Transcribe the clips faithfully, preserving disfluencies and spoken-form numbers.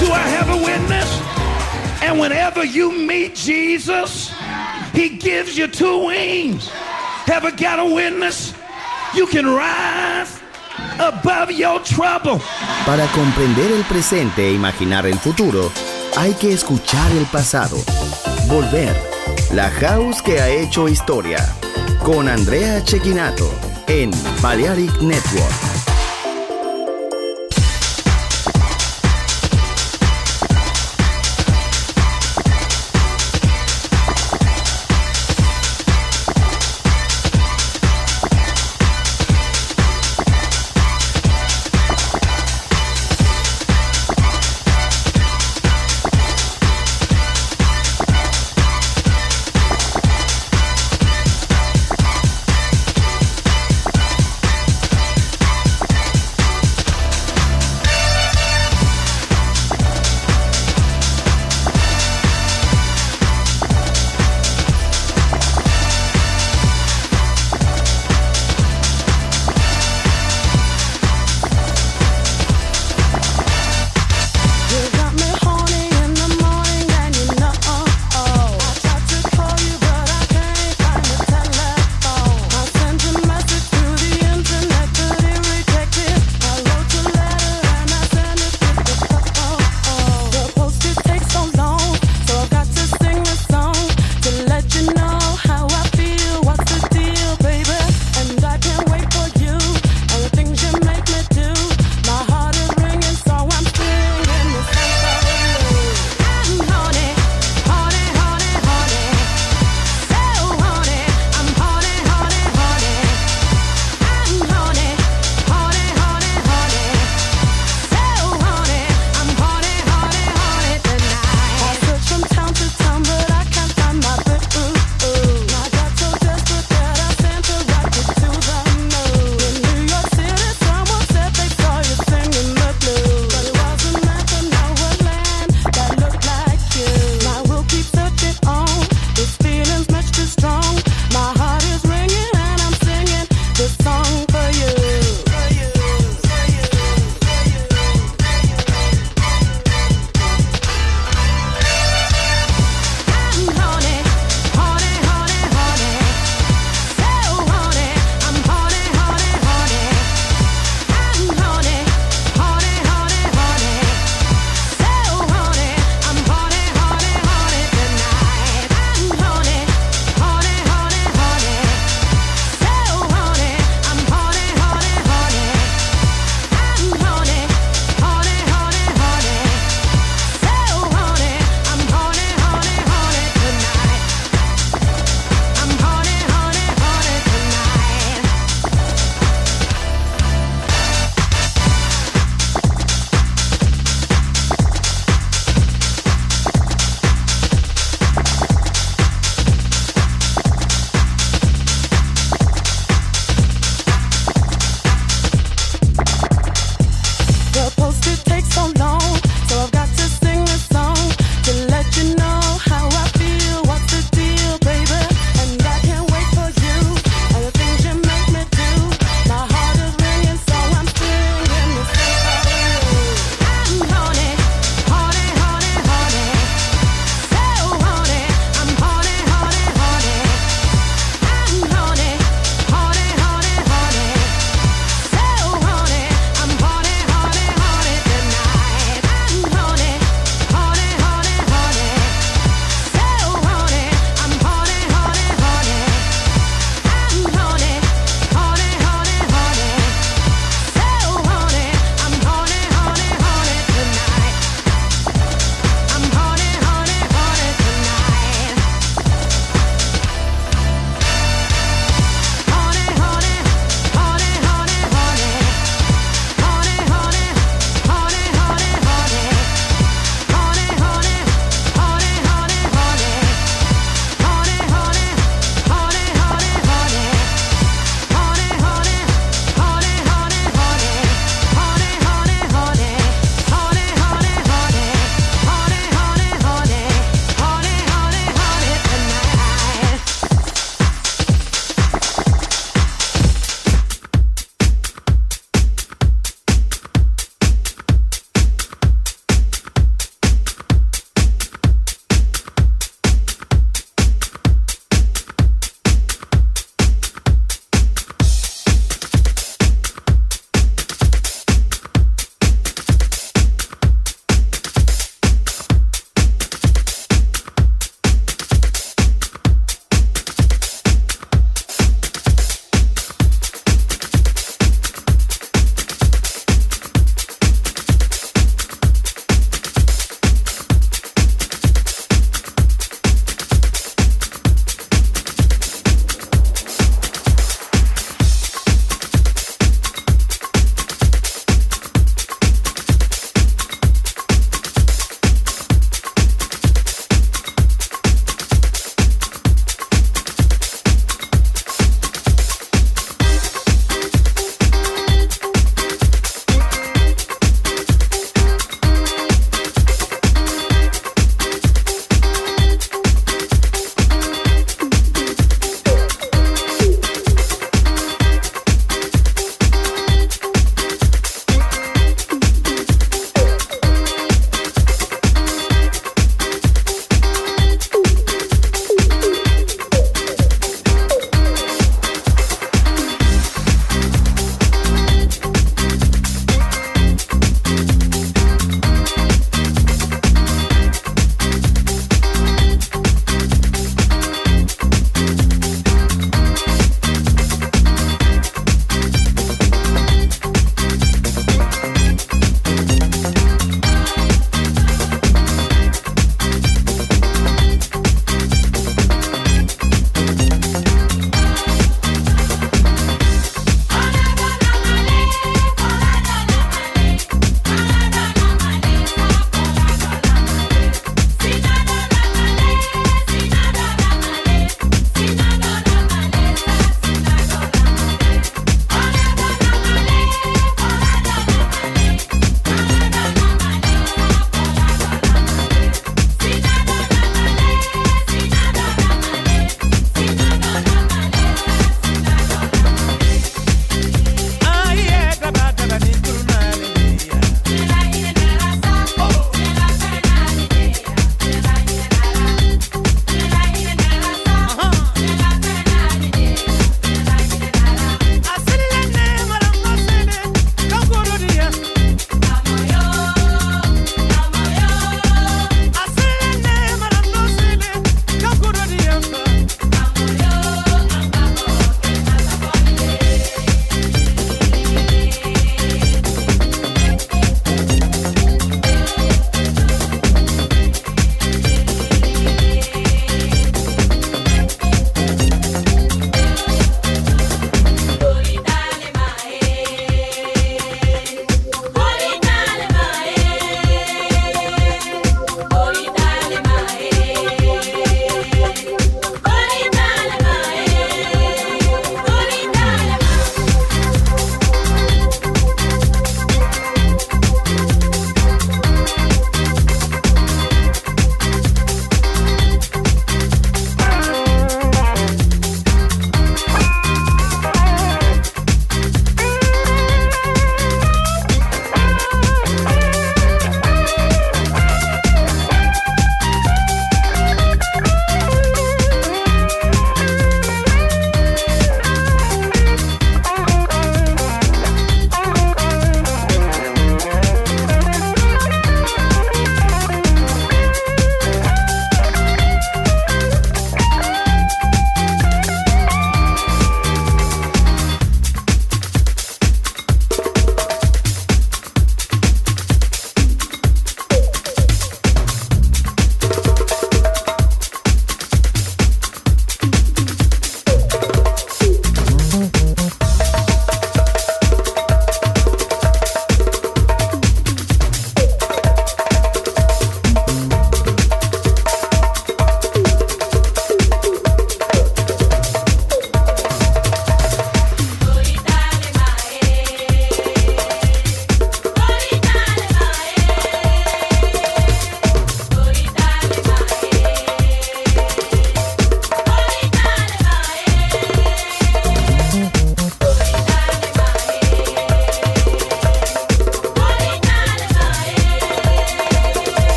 Do I have a witness? And whenever you meet Jesus, he gives you two wings. Have I got a witness? You can rise above your trouble. Para comprender el presente e imaginar el futuro, hay que escuchar el pasado. Volver. La House que ha hecho historia. Con Andrea Cecchinato en Balearic Network.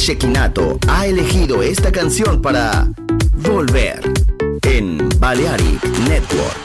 Shekinato ha elegido esta canción para volver en Balearic Network.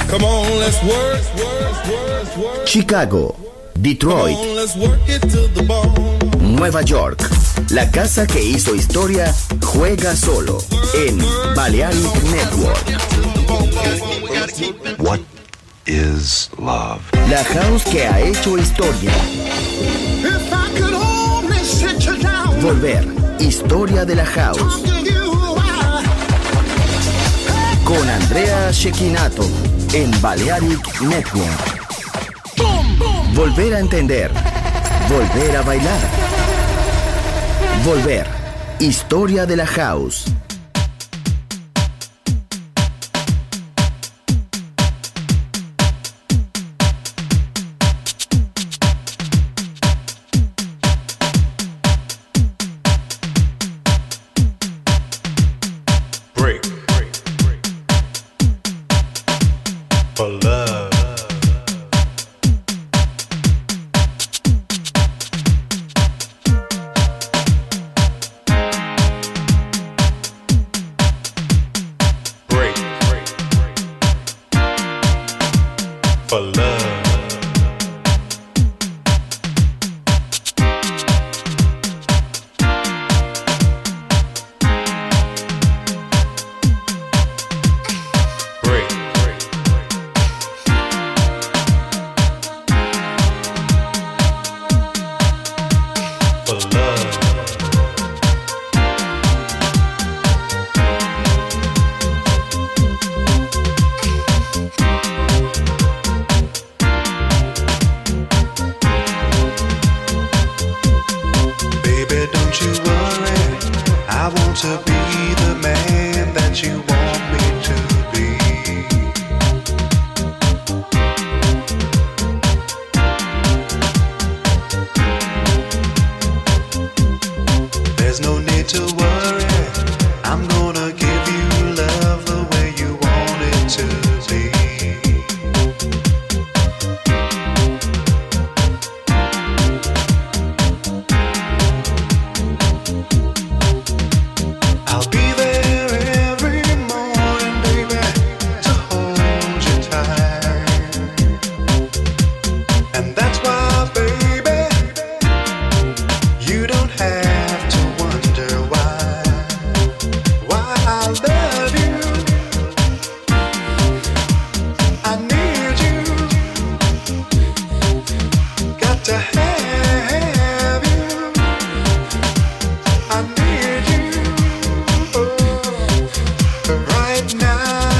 Come on, let's work, work, work, work. Chicago, Detroit, Come on, let's work it to the bone. Nueva York. La casa que hizo historia juega solo en Balearic Network. What is love? La house que ha hecho historia. If I could only sit you down. Volver. Historia de la house. Talk to you, I- Con Andrea Cecchinato en Balearic Network. Volver a entender. Volver a bailar. Volver. Historia de la house. Break, break, break. For love. Break, break, break. For love. Break, break, break. For love. Baby, don't you worry. I want to be the man that you want me to be. There's no need to worry. I'm gonna give you love the way you want it to be. I'll be there every morning, baby, to hold you tight. And that's why, baby, you don't have to wonder why. Why I love you. I need you. Got to have you. I need you. Right now.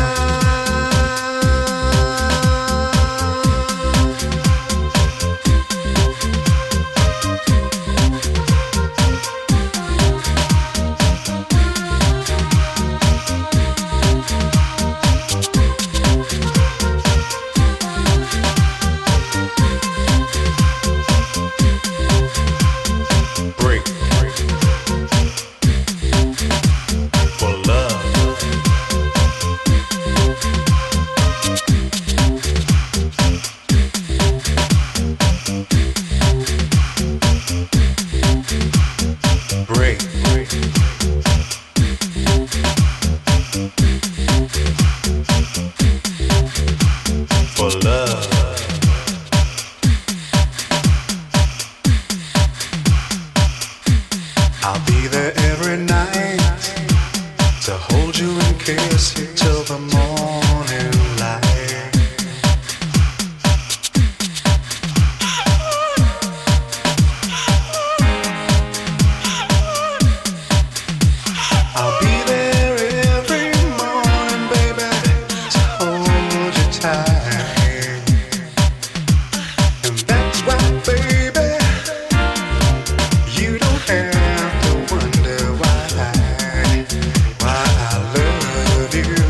Break, break. For love. Break, break. For love. I'll be there every night to hold you and kiss you till the morning light. I'll be there every morning, baby, to hold you tight. And that's why, baby, you don't have to wonder why, why I love you.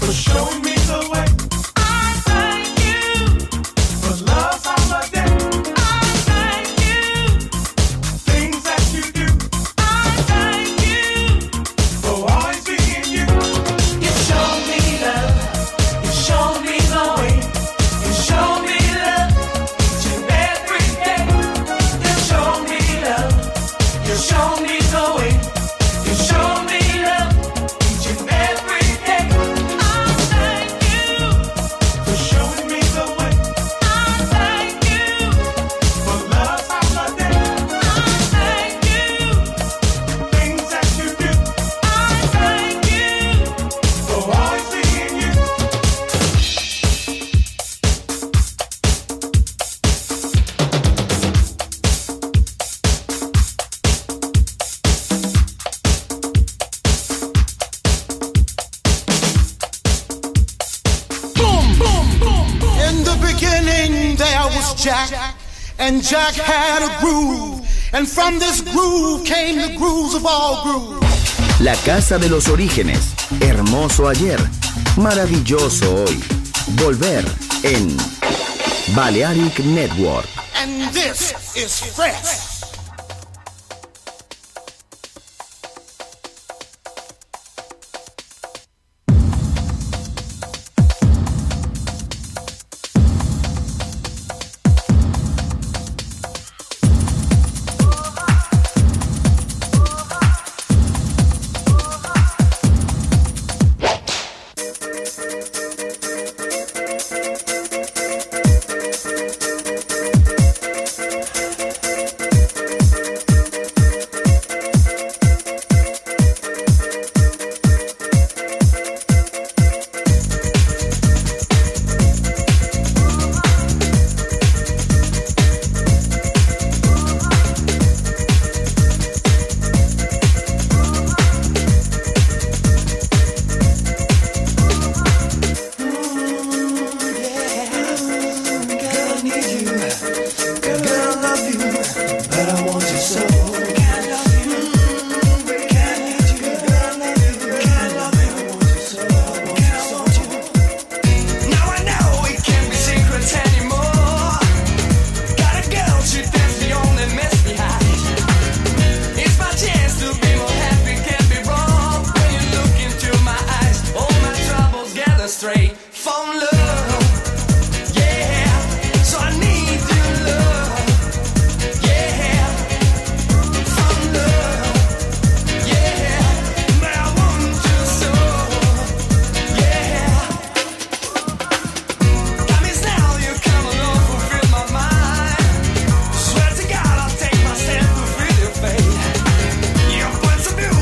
Jack, and Jack had a groove, and from this groove came the grooves of all grooves. La casa de los orígenes, hermoso ayer, maravilloso hoy. Volver en Balearic Network. And this is fresh.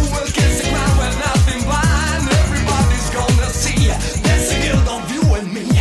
Me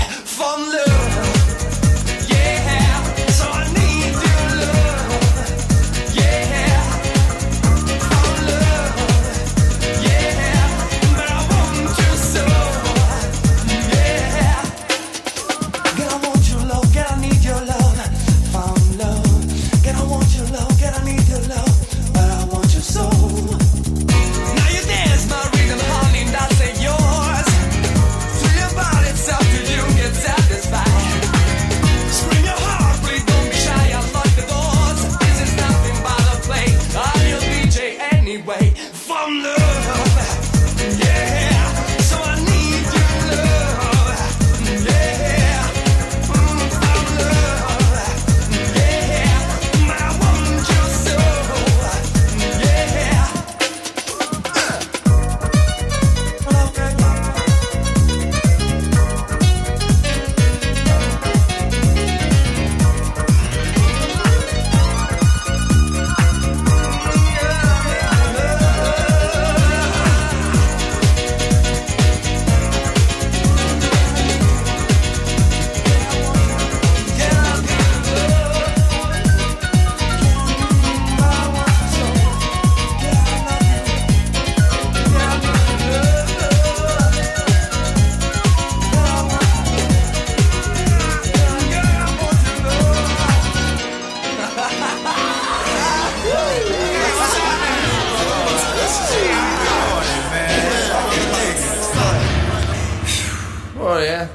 yeah?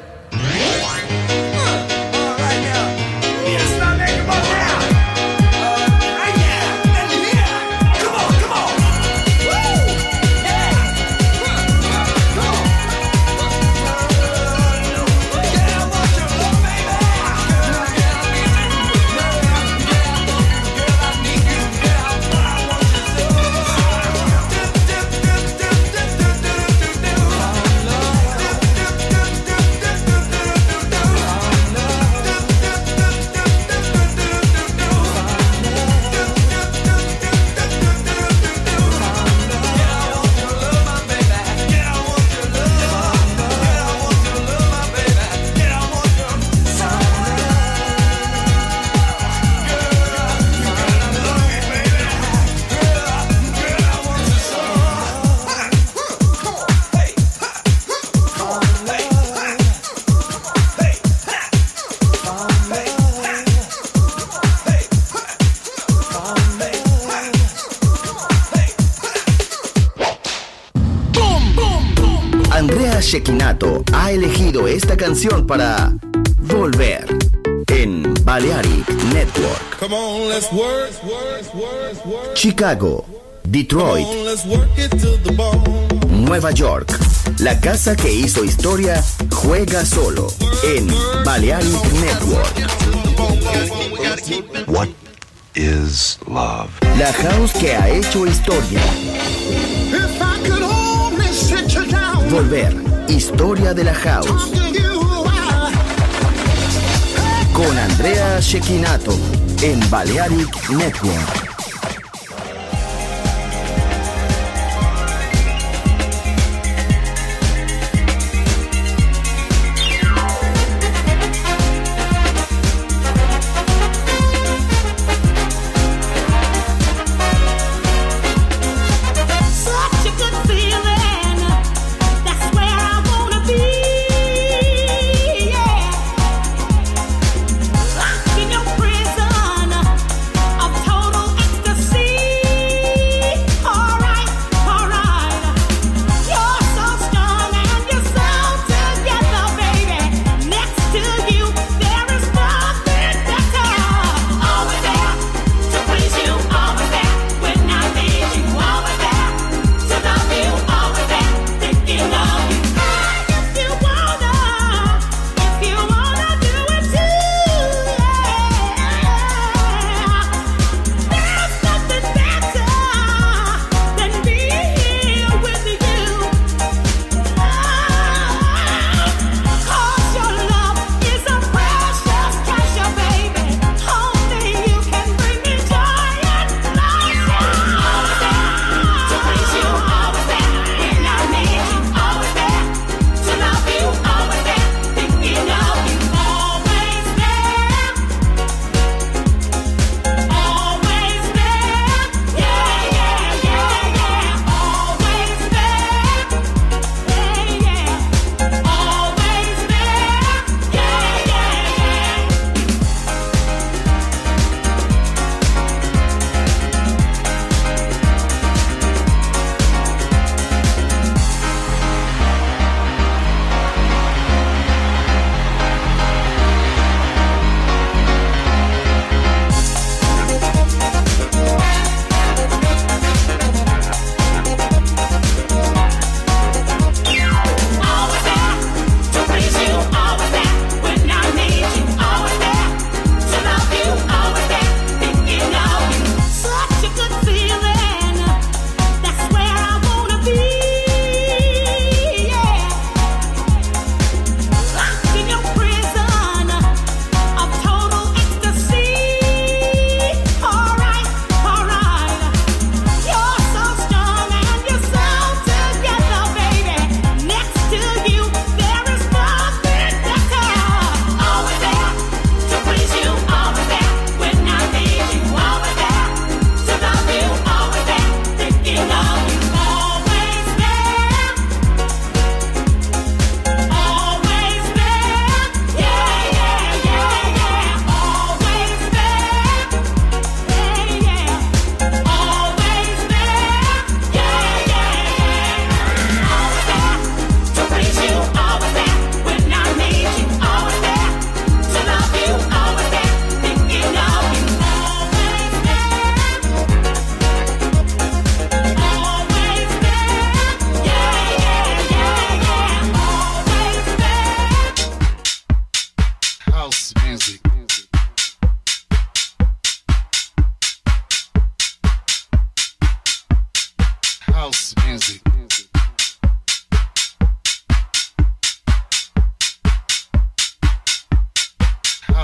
Andrea Cecchinato ha elegido esta canción para Volver en Balearic Network. Come on, let's work, work, work, work. Chicago, Detroit, Come on, let's work it to the bone. Nueva York. La casa que hizo historia juega solo en Balearic Network. What is love? La house que ha hecho historia. If I could only sit you down, Volver, historia de la house. talk to you, I- Con Andrea Cecchinato en Balearic Network. Such a good feeling. That's where I wanna be. Yeah. Locked in your prison of total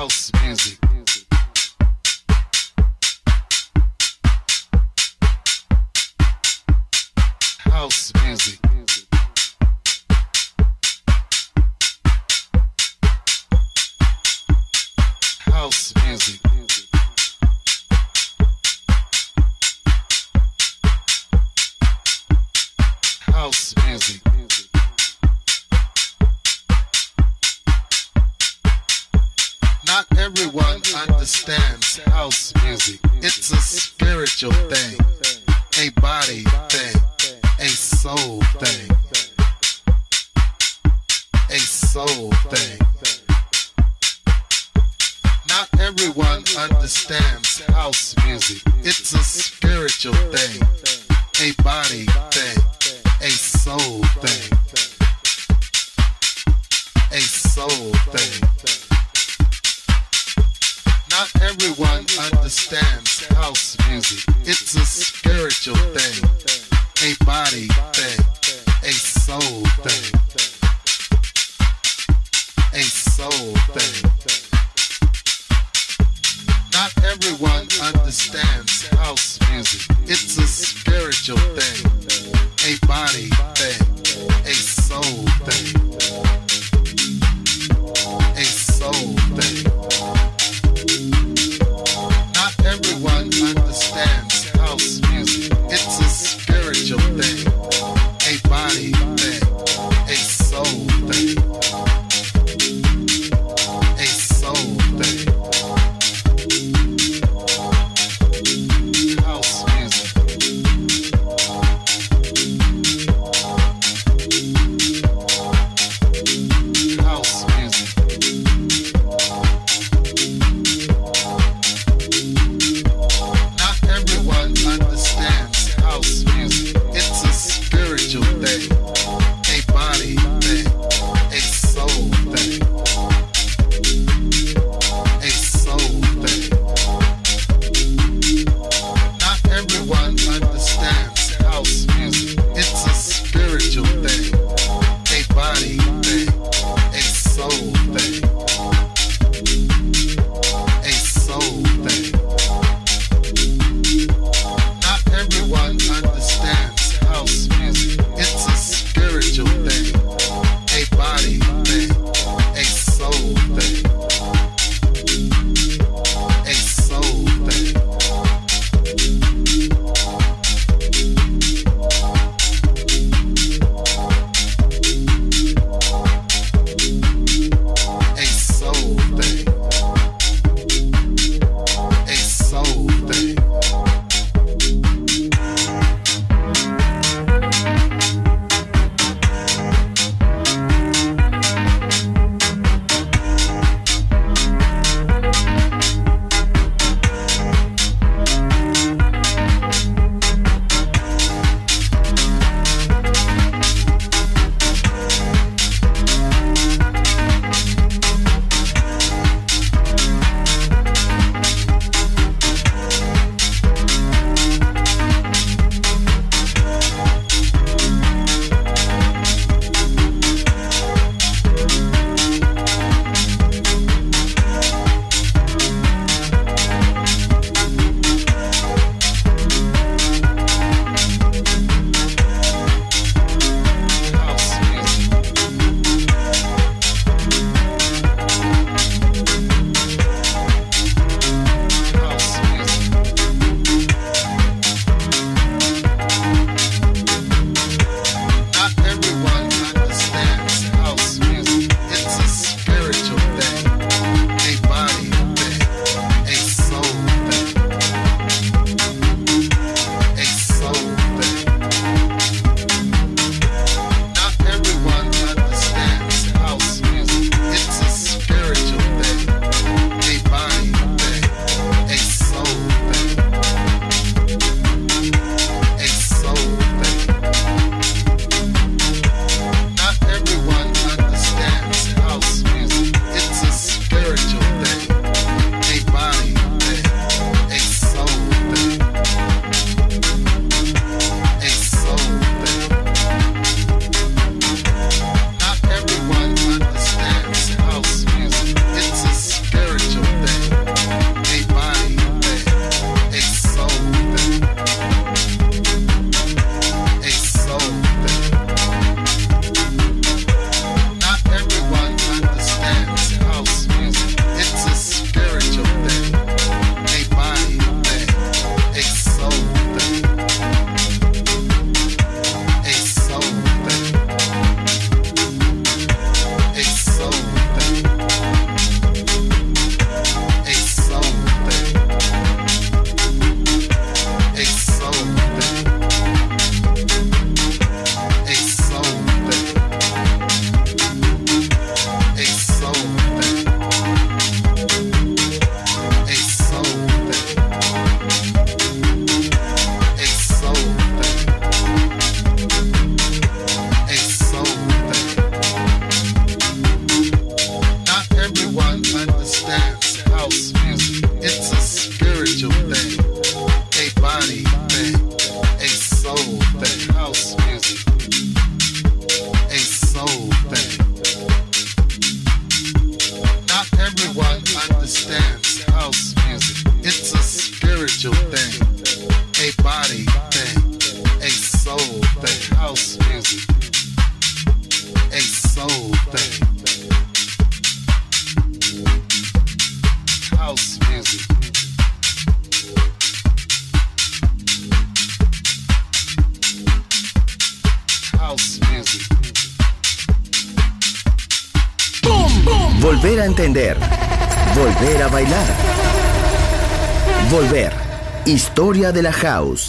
House music. House music. House music. House music. Not everyone understands house music. It's a spiritual thing, a body thing, a soul thing, a soul thing. Not everyone understands house music. It's a spiritual thing, a body thing, a soul thing, a soul thing. Not everyone understands house music. It's a spiritual thing, a body thing, a soul thing, a soul thing. Not everyone understands house music. It's a spiritual thing, a body thing, a soul thing, a soul thing. Not everyone understands house music. It's a spiritual thing, a body thing, a soul thing, a soul thing. House music. Volver a entender. Volver a bailar. Volver. Historia de la house.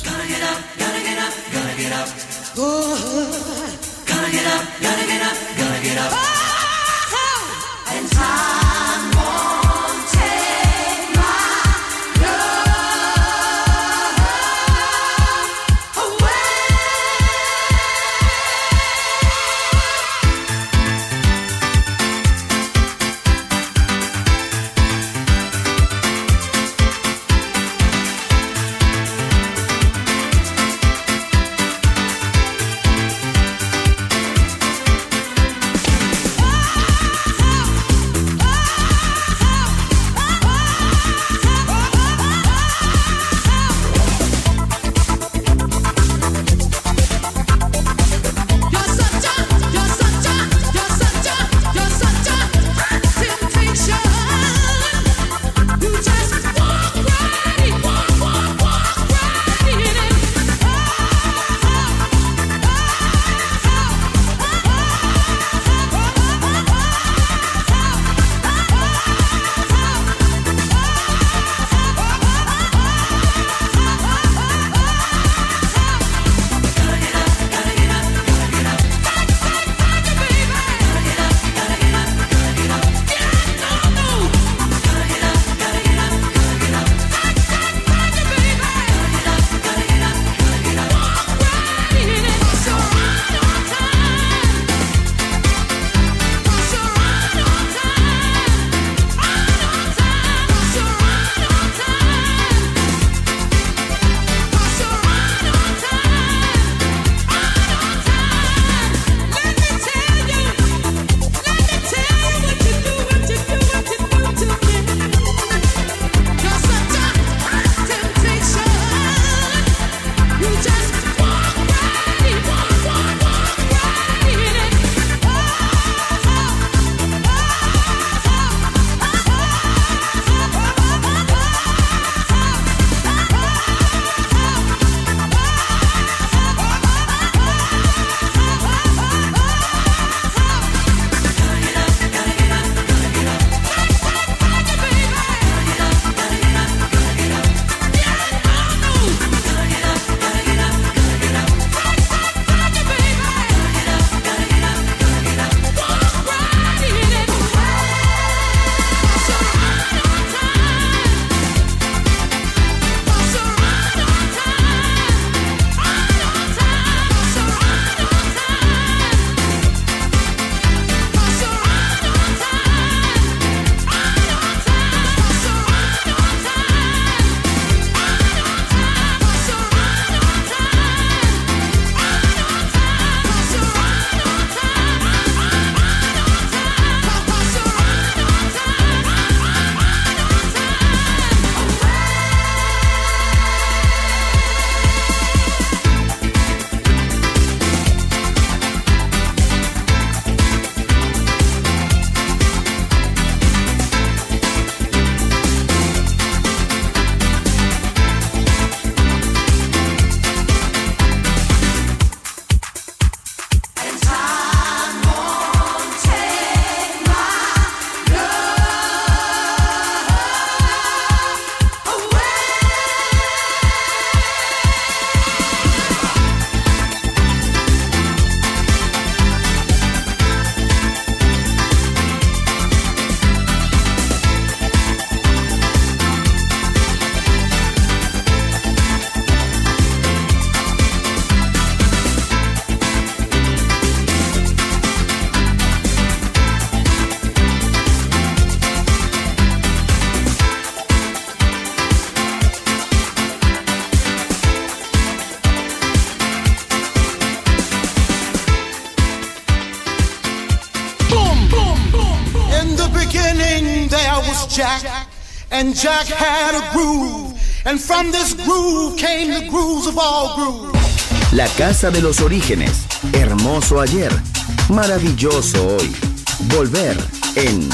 Jack, and Jack had a groove, and from this groove came the grooves of all grooves. La casa de los orígenes, hermoso ayer, maravilloso hoy. Volver en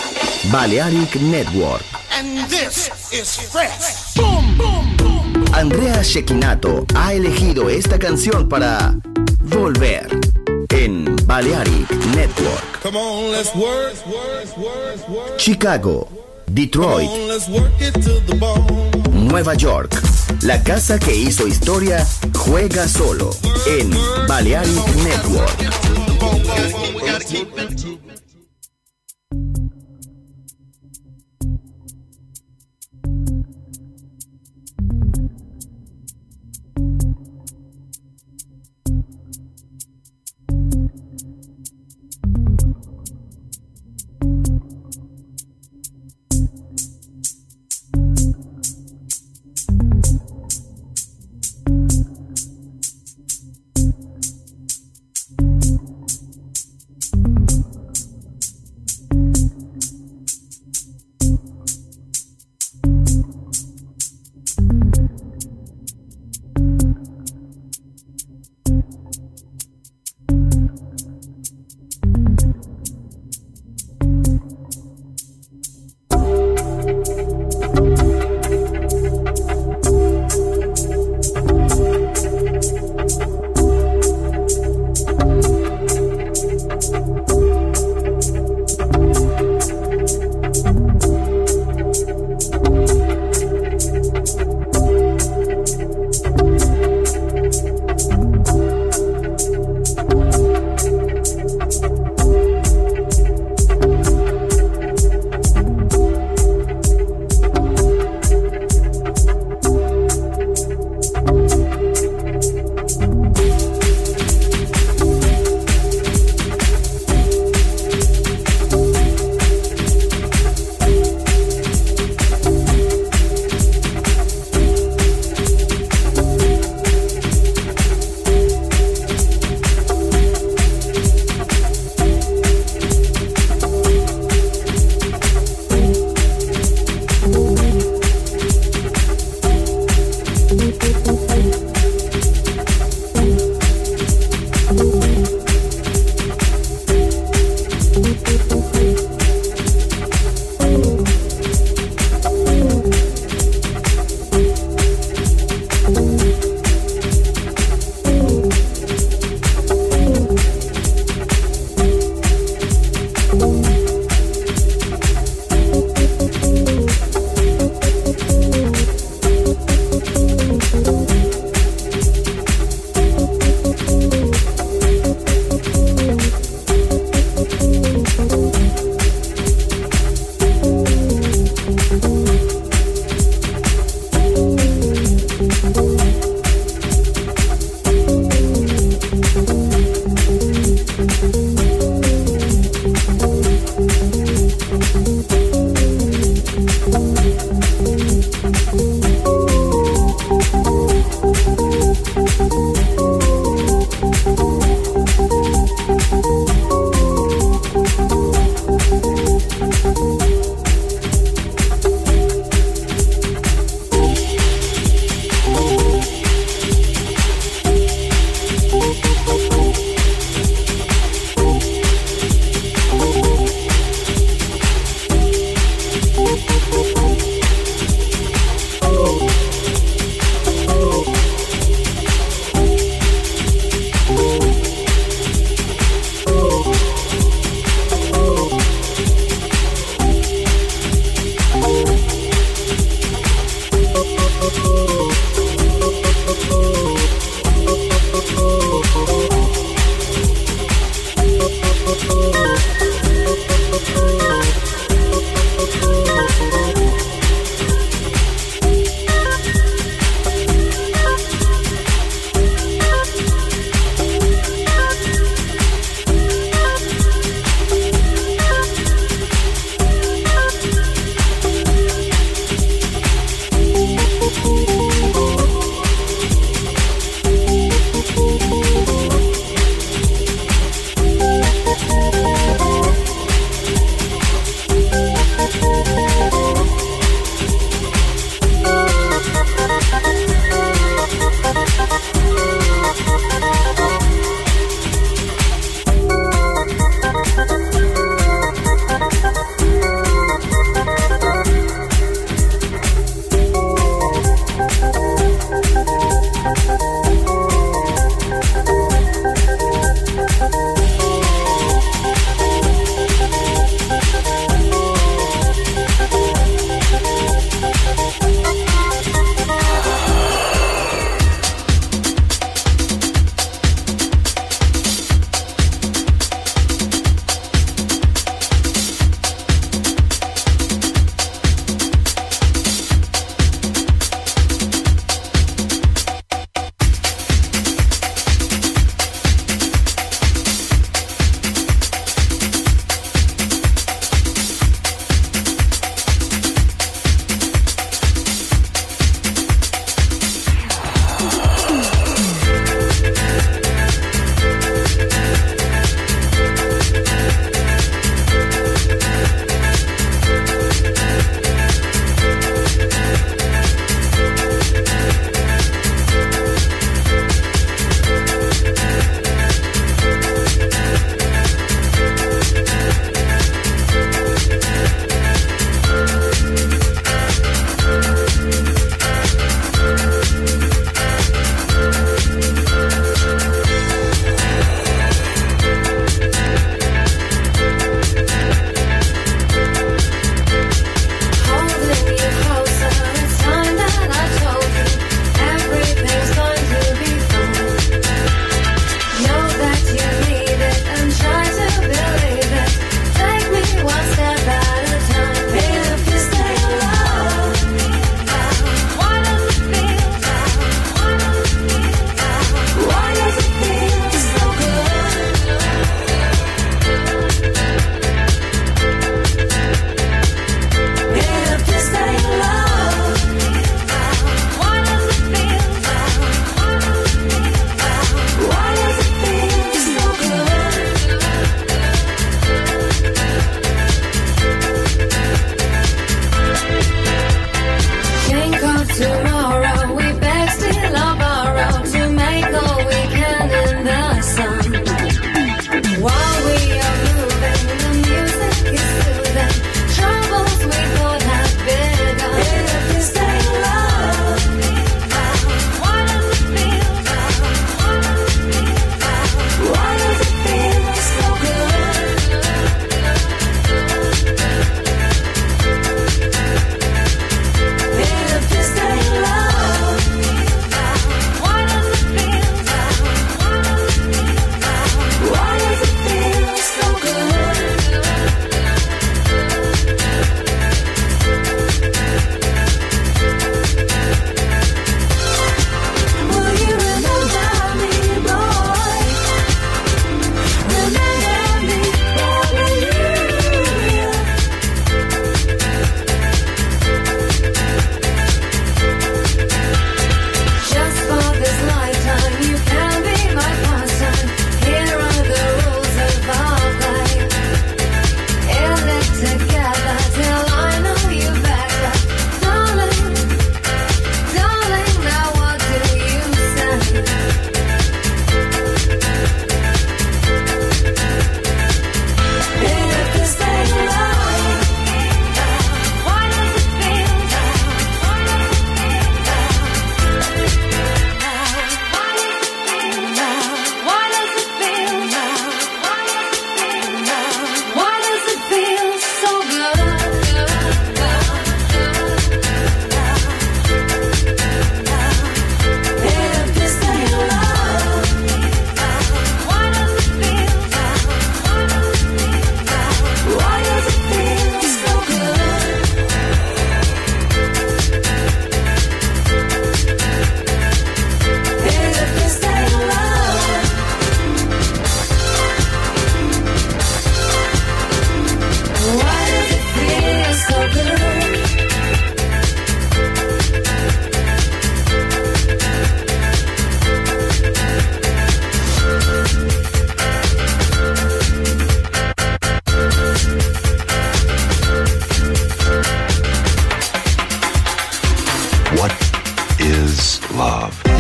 Balearic Network. And this is fresh. Boom, boom, boom. Andrea Cecchinato ha elegido esta canción para Volver en Balearic Network. Come on, let's work, work, work, work. Chicago, Detroit, Come on, let's work it to the bone. Nueva York. La casa que hizo historia juega solo en Balearic Network.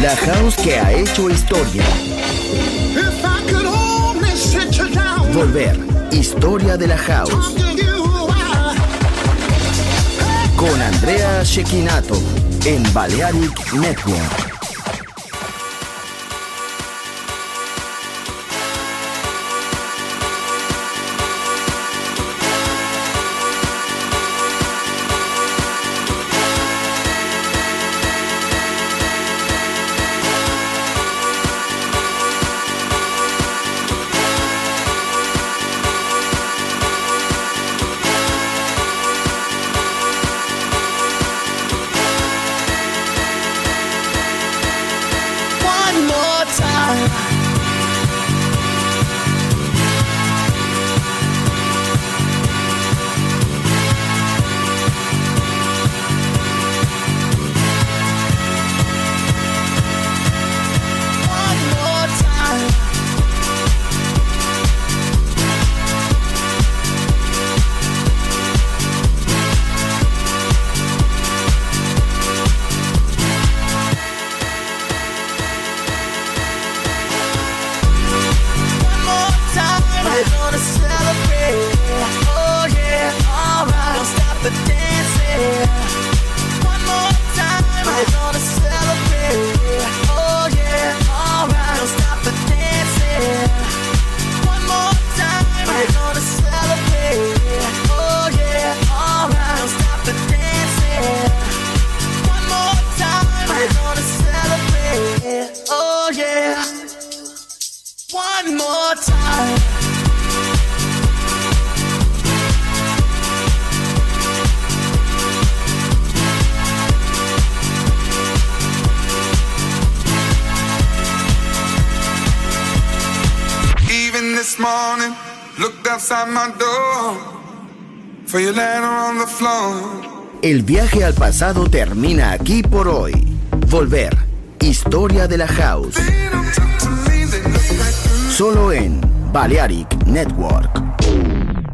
La house que ha hecho historia. If I could only sit you down, Volver. Historia de la house. talk to you while Con Andrea Cecchinato en Balearic Network. one more time. One more time. One more time. We're gonna celebrate. Oh yeah, alright. Don't stop the dancing. One more time. We're gonna celebrate. Oh yeah, alright. Don't stop the dancing. One more time. We're gonna celebrate. Oh yeah, alright. Don't stop the dancing. One more time. We're gonna celebrate. Oh yeah. One more time. Even this morning, looked outside my door for your letter on the floor. El viaje al pasado termina aquí por hoy. Volver. Historia de la house. They don't talk to me, they look like Solo en Balearic Network.